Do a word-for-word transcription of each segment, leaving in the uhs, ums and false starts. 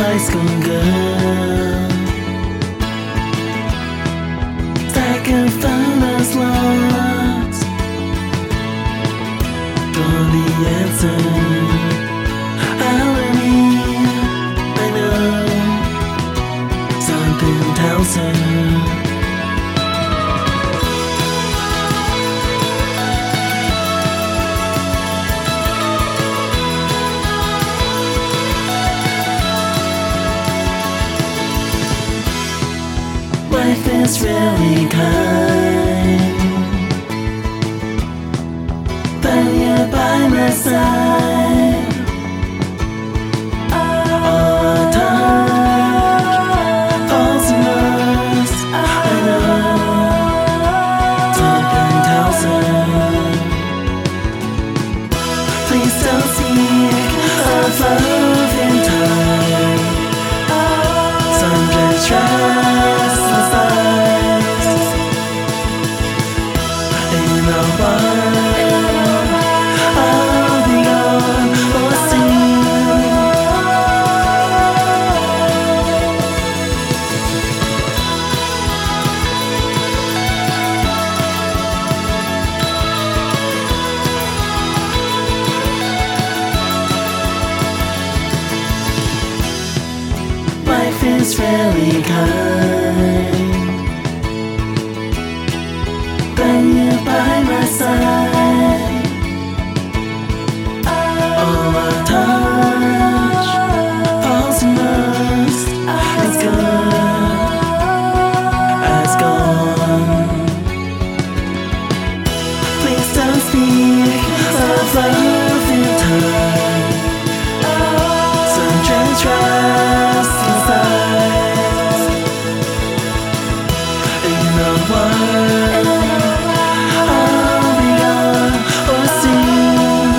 high school girl. Stacking photos lost. For the answer, irony, I know. Something tells her. Life is really kind when you're by my side. All the time, falls in love, I know. Something tells her. Please don't seek a love in time. Some just trust the signs. In the world, I'll be gone or soon. Life is really kind when you're by my side. All I touch falls in lust. It's gone, it's gone. Please don't speak of love in time. Some trust inside. In the world, I'll be gone or soon.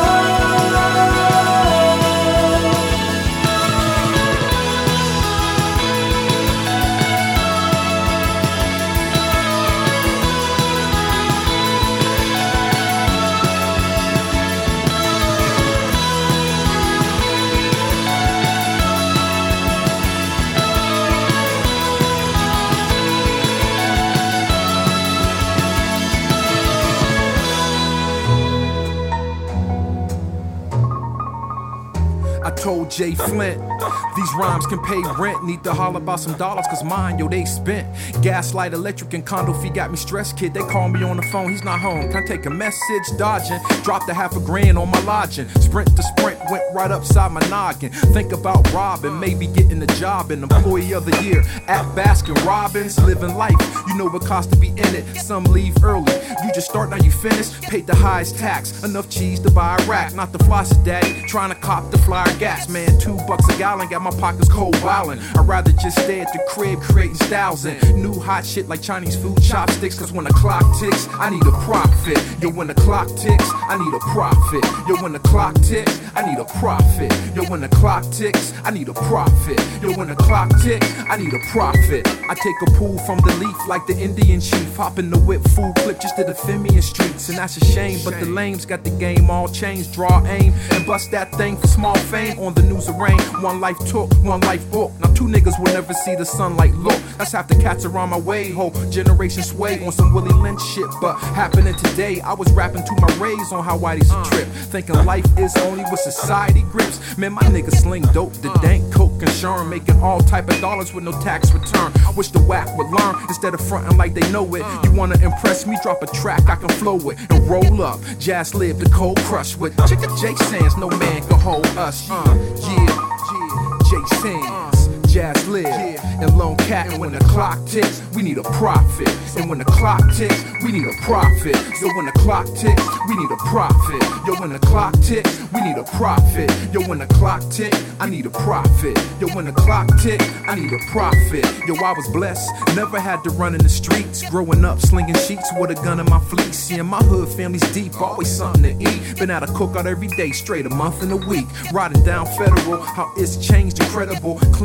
I told Jay Flint, these rhymes can pay rent. Need to holler about some dollars, cause mine, yo, they spent. Gaslight, electric, and condo fee got me stressed, kid. They call me on the phone, he's not home. Can I take a message? Dodging. Dropped a half a grand on my lodging. Sprint to sprint, went right upside my noggin. Think about robbing, maybe getting a job. An employee of the year at Baskin Robbins. Living life, you know what costs to be in it. Some leave early, you just start, now you finish. Paid the highest tax, enough cheese to buy a rack. Not the floss daddy, trying to cop the flyer gas. Man, two bucks a gallon, got my pockets cold wildin'. I'd rather just stay at the crib creating styles and new hot shit like Chinese food chopsticks. Cause when the clock ticks, I need a profit. Yo, when the clock ticks, I need a profit. Yo, when the clock ticks, I need a profit. Yo, when the clock ticks, I need a profit. Yo, when the clock ticks, I need a profit. I take a pull from the leaf like the Indian chief. Hop in the whip, full clip just to the Femian streets. And that's a shame, but the lames got the game all changed. Draw aim and bust that thing for small fame. On the news arraign, one life took, one life book. Now two niggas will never see the sunlight look. That's half the cats around my way. Whole generation sway on some Willie Lynch shit. But happening today, I was rapping to my rays on how Whitey's a trip. Thinking life is only what society grips. Man, my niggas sling dope, the dank coke and Sherm, making all type of dollars with no tax return. I wish the whack would learn instead of fronting like they know it. You wanna impress me? Drop a track I can flow with and roll up. Jazz live the cold crush with Chicka J Sands. No man can hold us. Uh, yeah, yeah, J Sands. Jazz live, yeah. And Lone Cat. And when the clock ticks, we need a profit. And when the clock ticks, we need a profit. Yo, when the clock ticks, we need a profit. Yo, when the clock ticks, we need a profit. Yo, when the clock ticks, I need a profit. Yo, when the clock ticks, I need a profit. Yo, I was blessed, never had to run in the streets. Growing up, slinging sheets with a gun in my fleece. Yeah, my hood family's deep, always something to eat. Been at a cookout every day, straight a month and a week. Riding down Federal, how it's changed, incredible. Cleaned out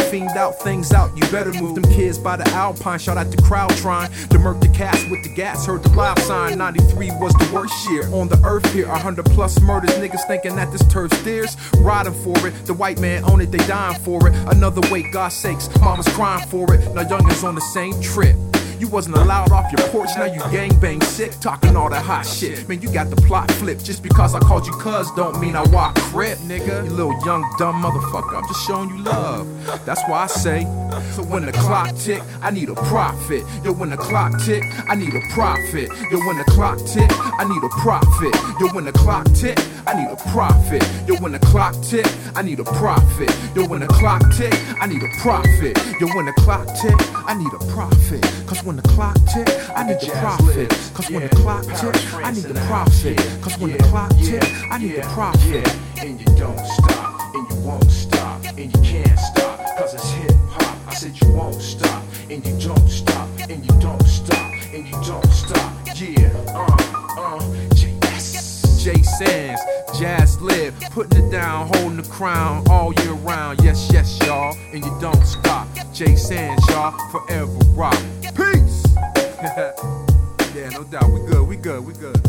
fiend out, things out. You better move them kids by the Alpine. Shout out the crowd trying to murk the cast with the gas. Heard the loud sign. ninety-three was the worst year on the earth here. A hundred plus murders. Niggas thinking that this turf's theirs. Riding for it. The white man own it. They dying for it. Another way, God's sakes. Mama's crying for it. Now youngins on the same trip. You wasn't allowed off your porch, now you gangbang sick, talking all that hot shit. Man, you got the plot flipped. Just because I called you cuz don't mean I walk crip, nigga. You little young dumb motherfucker, I'm just showing you love. That's why I say, so when the clock tick, I need a profit. Yo, when the clock tick, I need a profit. Yo, when the clock tick, I need a profit. Yo, when the clock tick, I need a profit. Yo, when the clock tick, I need a profit. Yo, when the clock tick, I need a profit. Yo, when the clock tick, I need a profit. Cause when the clock tick, I need the profit. Cause when the clock tick, I need the profit. Cause when the clock tick, I need the profit. And you don't stop, and you won't stop, and you can't stop, cause it's hip hop. I said you won't stop, and you don't stop, and you don't stop, and you don't stop. Yeah, uh, uh, J S. Jay Sands, Jazz Live, putting it down, holding the crown all year round. Yes, yes, y'all, and you don't stop. Jay Sands, y'all, forever rock. Peace! Yeah, no doubt, we good, we good, we good.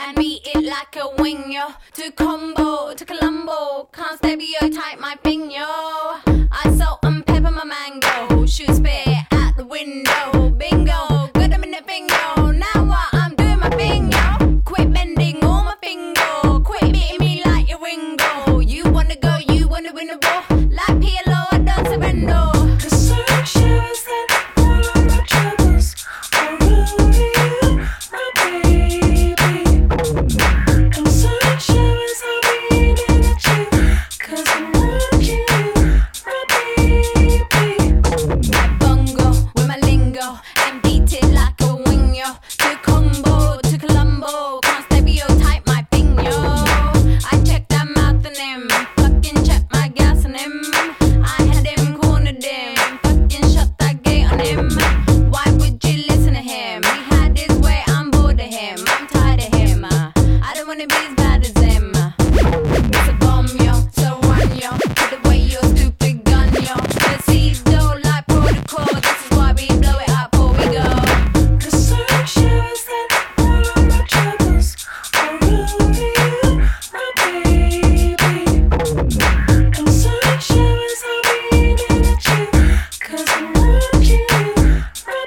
and beat it like a wing, yo. To combo, to Colombo, can't stereotype my thing, yo. I salt and pepper my mango, shoot spit out the window, bingo, good I'm in the bingo. Now what? I'm doing my thing, yo. Quit bending all my finger, quit beating me like your Ringo. You wanna go, you wanna win the war, like P L O, I don't surrender. The sun shows that all of my troubles are over you, my baby. The sun shows I'm beaming at you, 'cause I'm watching you, my baby. Bongo with my lingo and beat it like a wing, yo. To combo, to Colombo, can't stereotype my thing, yo. I check that mouth on him, fucking check my gas on him. I had him, cornered him, fucking shut that gate on him. Why would you listen to him? He had his way, I'm bored of him, I'm tired of him. uh, I don't wanna be as bad as him. uh. It's a bomb, yo, so run, yo. Put away your stupid gun, yo. The seeds don't like protocol, this is why we blow it up before we go. The sun shows that all of my troubles are over you, my baby. The sun shows I'm beaming at you, 'cause I'm watching you, my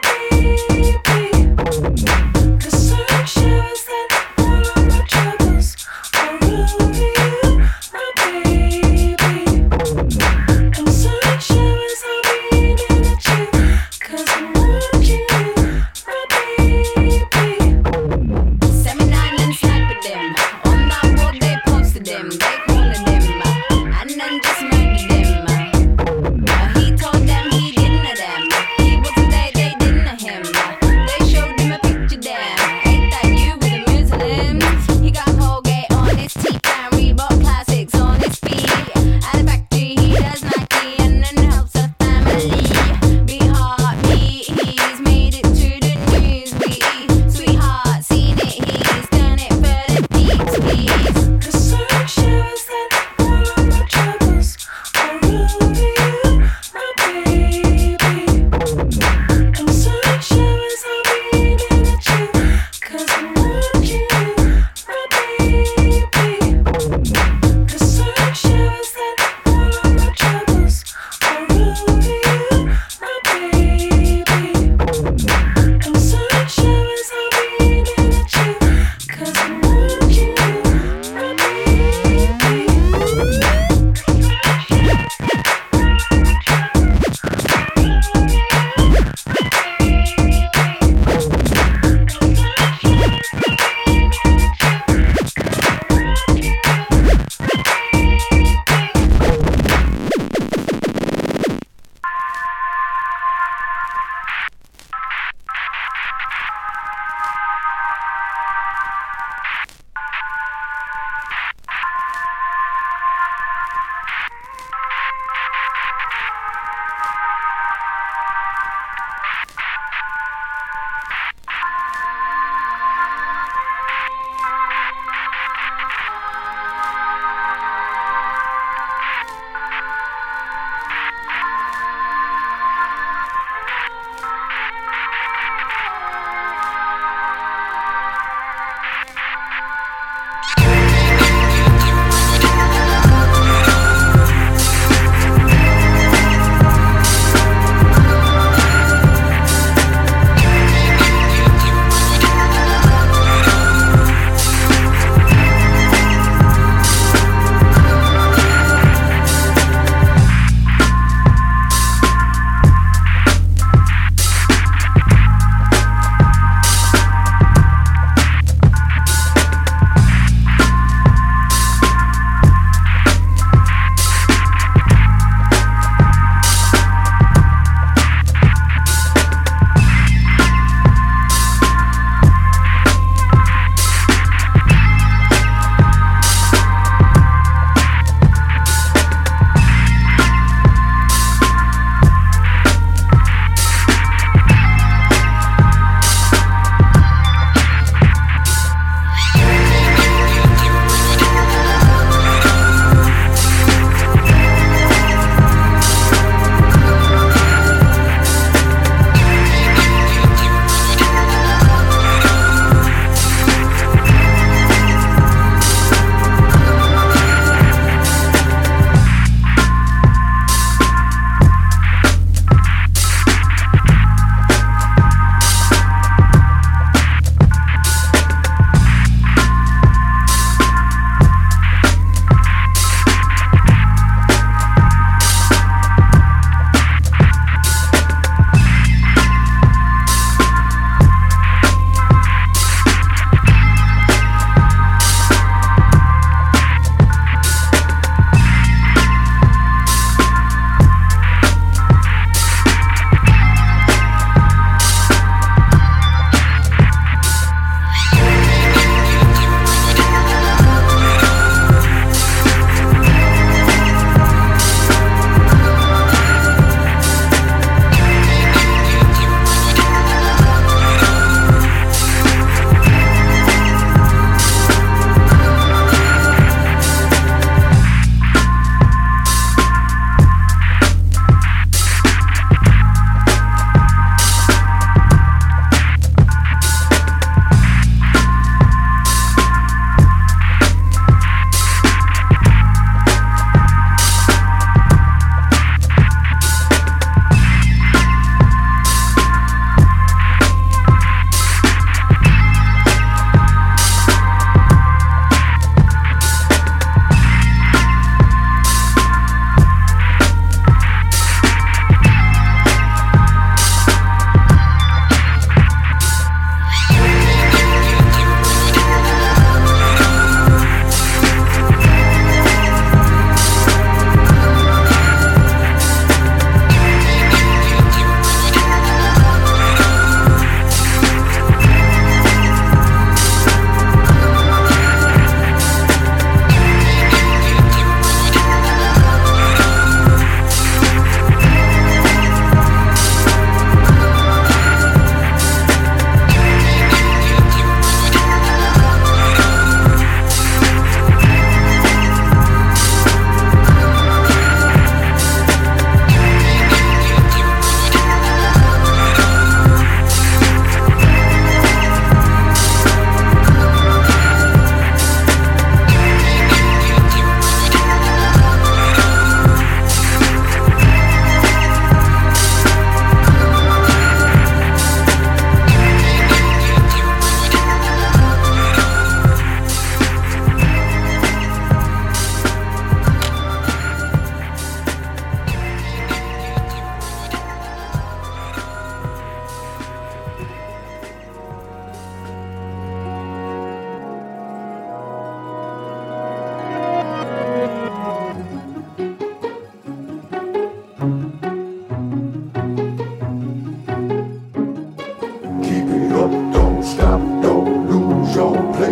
baby. The sun shows that all of my troubles are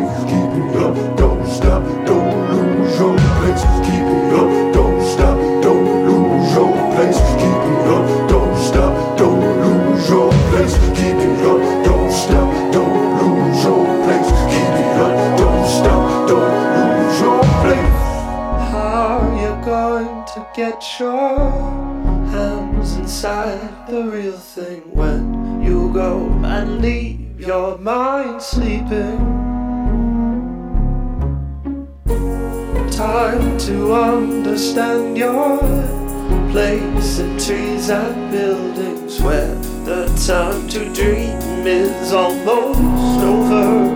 place. Keep it up, don't stop, don't lose your place. Keep it up, don't stop, don't lose your place. Keep it up, don't stop, don't lose your place. Keep it up, don't stop, don't lose your place. Keep it up, don't stop, don't lose your place. How you going to get your hands inside the real thing when you go and leave your mind sleeping? Time to understand your place in trees and buildings where the time to dream is almost over.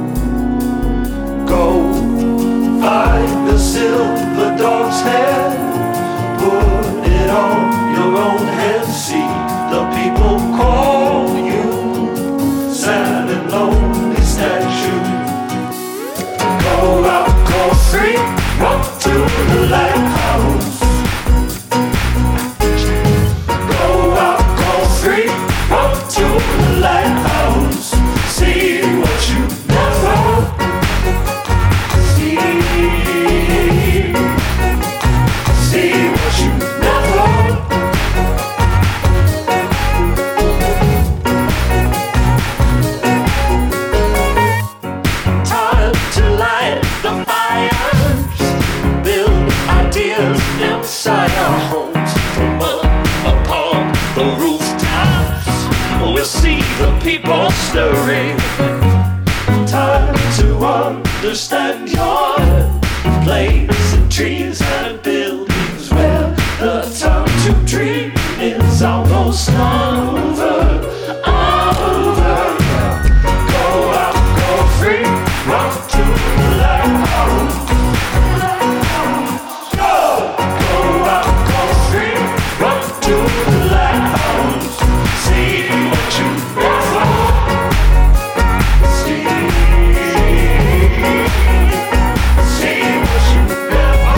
Go find the silver dog's head, put it on your own head, see the people call you sad and lonely statue. Go out, go free, walk to the lighthouse. Go out, go free, walk to the lighthouse. See what you never see. See what you never. Time to light the fires, build ideas inside our homes. From up upon the rooftops, we'll see the people stirring. Time to understand your place in trees and buildings where the time to dream is almost over. Over. Go out, go free, run to the lighthouse. Go, go out, go free, run to the lighthouse. See what you never see. See what you never,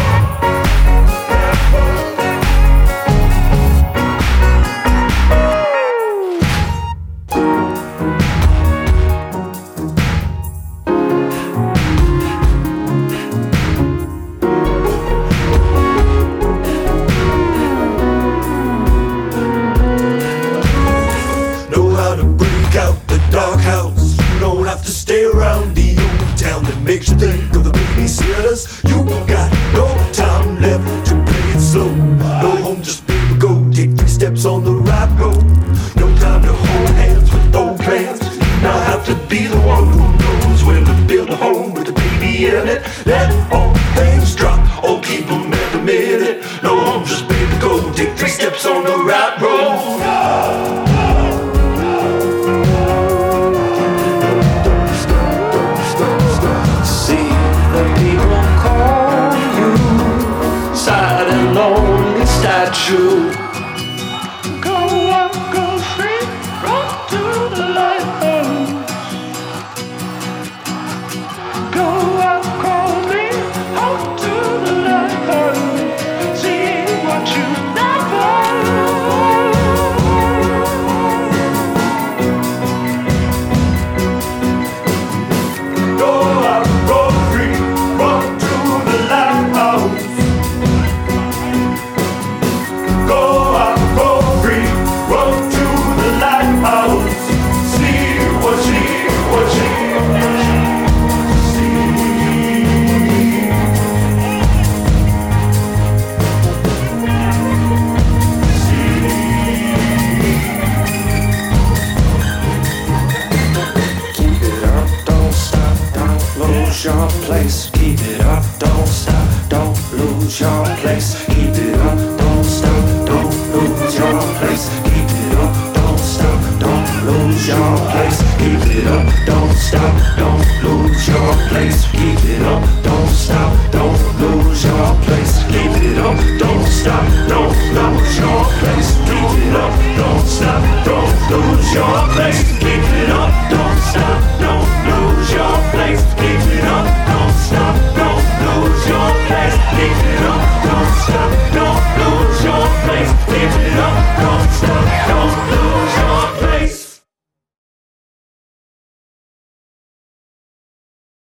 know how to break out the dark house. You don't have to stay around the old town that makes you think of the babysitters. You got no time left to play it slow. No home, just baby, go take three steps on the right road. No time to hold hands with old plans. You now have to be the one who knows when to build a home with a baby in it. Let all things drop, or keep them every minute. No home, just baby, go take three steps on the right road. See the people call you sad and lonely statue. Go up, go free, run to the lighthouse. Go up, call me, out to the lighthouse. See what you never. Go out, go free, run to the lighthouse. Go out, go free, run to the lighthouse. See what she, what she, see. Keep it up, don't stop, don't lose your place. Keep it up, don't stop, don't lose your place. Keep it up, don't stop, don't lose your place. Keep it up, don't stop, don't lose your place. Keep it up, don't stop, don't lose your place. Keep it up, don't stop, don't lose your place. Keep it up, don't stop, don't lose your place. Keep it up, don't stop, don't lose your place. Keep it up, don't stop, don't lose your place. Keep it up, don't stop, don't lose your place. Keep it up, don't stop, don't lose your place. Keep it up.